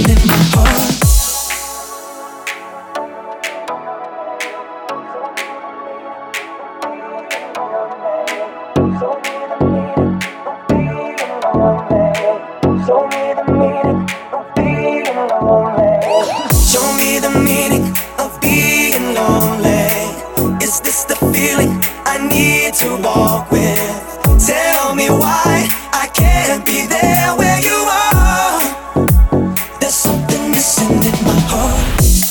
in my heart. Show me the meaning of being lonely. Is this the feeling I need to walk with? Tell me why I can't be there where you are. There's something missing in my heart.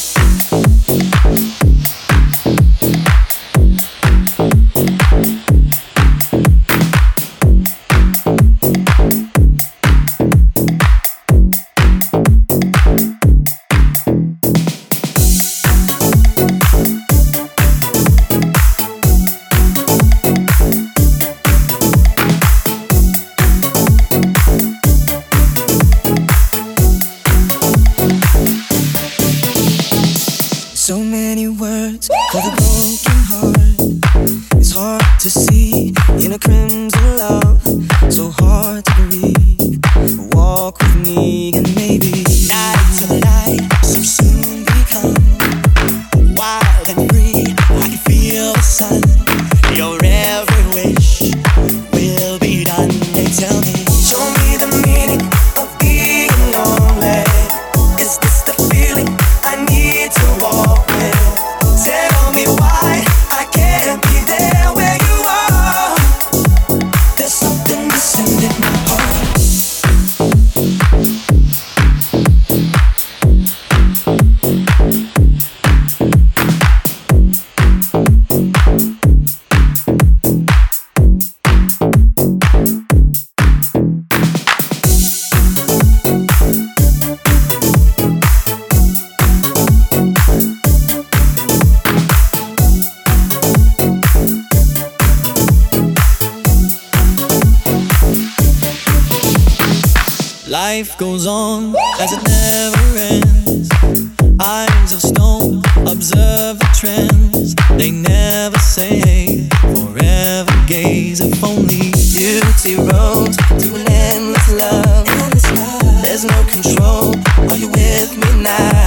So many words for the broken heart. It's hard to see in a crimson love, so hard to breathe. Walk with me and maybe night to light so soon become wild and free. I can feel the sun. Your every wish will be done. They tell me, show me the meaning of being lonely. Is this the feeling I need to walk with? Tell me why I can't be there where you are. There's something missing in my heart. Life goes on as it never ends. Eyes of stone observe the trends. They never say forever gaze. If only beauty roads to an endless love. There's no control. Are you with me now?